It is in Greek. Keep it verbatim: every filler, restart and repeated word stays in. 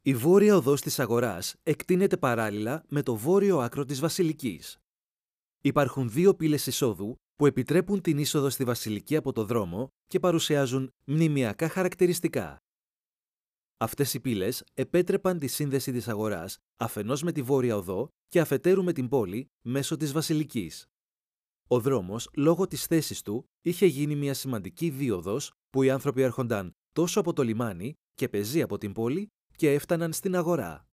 Η βόρεια οδός της αγοράς εκτείνεται παράλληλα με το βόρειο άκρο της Βασιλικής. Υπάρχουν δύο πύλες εισόδου που επιτρέπουν την είσοδο στη Βασιλική από το δρόμο και παρουσιάζουν μνημειακά χαρακτηριστικά. Αυτές οι πύλες επέτρεπαν τη σύνδεση της αγοράς αφενός με τη βόρεια οδό και αφετέρου με την πόλη μέσω της Βασιλικής. Ο δρόμος, λόγω της θέσης του, είχε γίνει μια σημαντική δίωδος που οι άνθρωποι έρχονταν τόσο από το λιμάνι και πεζοί από την πόλη και έφταναν στην αγορά.